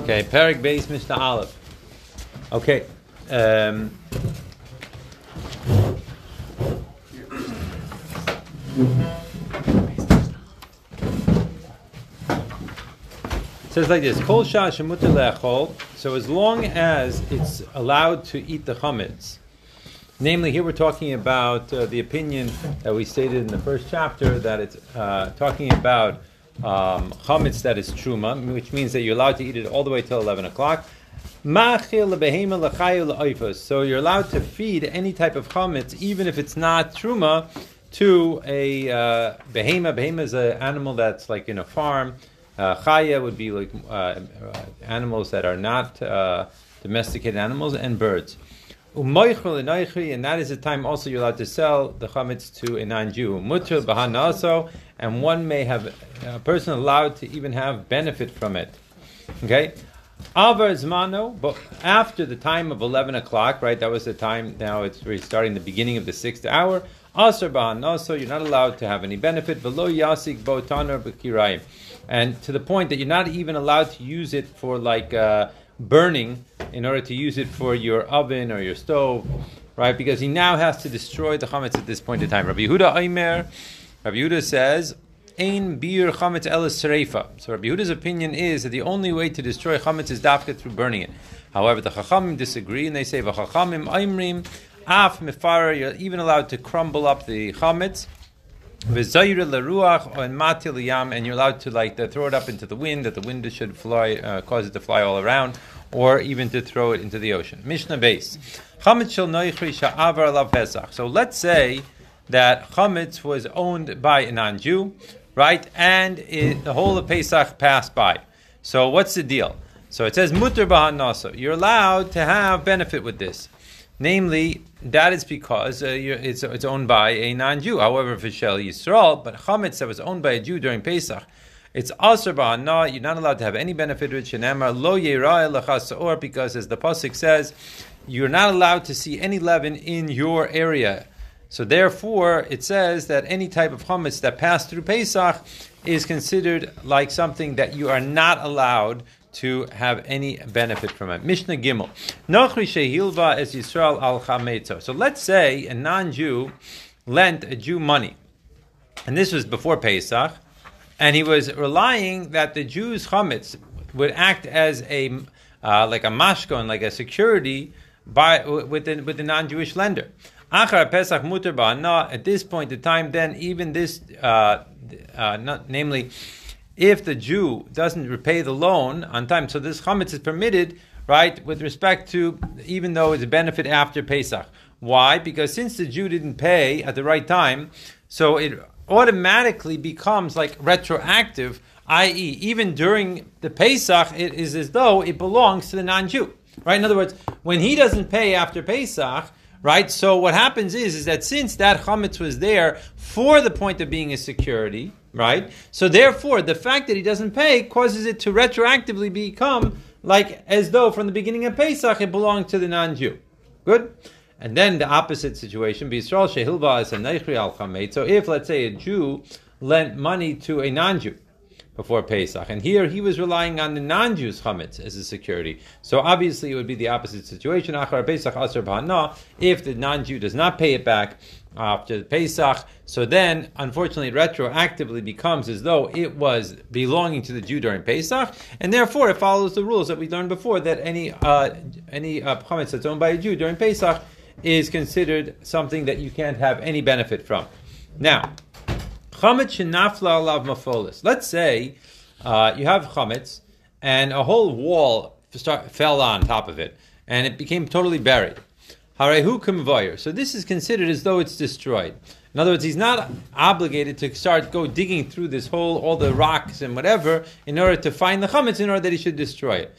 Okay, Perek Beis Mishnah Aleph. Okay. It says like this: Kol shah shemuter le'achol. So as long as it's allowed to eat the chametz, namely here we're talking about the opinion that we stated in the first chapter that it's talking about chametz that is truma, which means that you're allowed to eat it all the way till 11 o'clock. So you're allowed to feed any type of chametz, even if it's not truma, to a behema. Behema is an animal that's like in a farm. Chaya would be like animals that are not domesticated animals, and birds. And that is the time also you're allowed to sell the chametz to a non-Jew. Mutter bahana also, and one may have a person allowed to even have benefit from it. Okay. Avar zmano, but after the time of 11 o'clock, right? That was the time. Now we're starting the beginning of the 6th hour. Asar bahana, so you're not allowed to have any benefit. Velo yasik botaner b'kirayim, and to the point that you're not even allowed to use it for like burning, in order to use it for your oven or your stove, right? Because he now has to destroy the chametz at this point in time. Rabbi Yehuda Aimer, Rabbi Yehuda says, Ein bir chametz elas sereifa. So Rabbi Yehuda's opinion is that the only way to destroy chametz is dafka through burning it. However, the chachamim disagree, and they say, v'chachamim aimrim af mefara, you're even allowed to crumble up the chametz, v'zayir leruach and matil yam, and you're allowed to throw it up into the wind, that the wind should fly, cause it to fly all around, or even to throw it into the ocean. Mishnah base. Chametz shel noichri sha'avar alav pesach. So let's say that chametz was owned by a non-Jew, right? And the whole of Pesach passed by. So what's the deal? So it says muter b'han naso. You're allowed to have benefit with this. Namely, that is because it's owned by a non-Jew. However, for Shel Yisrael, but chametz that was owned by a Jew during Pesach, it's asur b'hana. You're not allowed to have any benefit with shenemar lo yirah lachas saor, because as the pasuk says, you're not allowed to see any leaven in your area. So therefore, it says that any type of chametz that passed through Pesach is considered like something that you are not allowed to have any benefit from it. Mishnah Gimel. Nochri shehilva es Yisrael al chametzo. So let's say a non-Jew lent a Jew money, and this was before Pesach, and he was relying that the Jew's chametz would act as a like a mashkon, like a security with the non-Jewish lender. Achar Pesach muter ba'ana. At this point in time, then even this, namely, if the Jew doesn't repay the loan on time, so this chametz is permitted, right, with respect to, even though it's a benefit after Pesach. Why? Because since the Jew didn't pay at the right time, so it automatically becomes like retroactive, i.e., even during the Pesach, it is as though it belongs to the non-Jew, right? In other words, when he doesn't pay after Pesach, right? So what happens is that since that chametz was there for the point of being a security, right? So therefore, the fact that he doesn't pay causes it to retroactively become like as though from the beginning of Pesach it belonged to the non-Jew. Good? And then the opposite situation, B'Yisrael shehilva es haneichri al chametz. So if, let's say, a Jew lent money to a non-Jew before Pesach, and here he was relying on the non-Jew's chametz as a security. So obviously it would be the opposite situation. Achar Pesach asur b'hana. If the non-Jew does not pay it back after the Pesach, so then unfortunately it retroactively becomes as though it was belonging to the Jew during Pesach, and therefore it follows the rules that we learned before, that any chametz that's owned by a Jew during Pesach is considered something that you can't have any benefit from. Now, chametz shenafla alav mafolis. Let's say you have chametz and a whole wall fell on top of it, and it became totally buried. Harehu k'mvayir. So this is considered as though it's destroyed. In other words, he's not obligated to go digging through this hole, all the rocks and whatever, in order to find the chametz, in order that he should destroy it.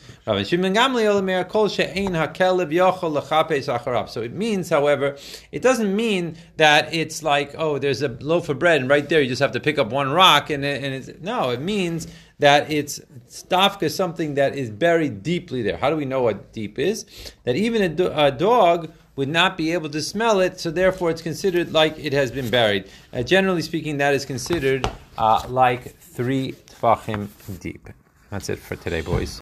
So it means, however, it doesn't mean that it's like, oh, there's a loaf of bread, and right there you just have to pick up one rock, and it's, no, it means that it's stafka, something that is buried deeply there. How do we know what deep is? That even a dog would not be able to smell it, so therefore it's considered like it has been buried. Generally speaking, that is considered like 3 tfachim deep. That's it for today, boys.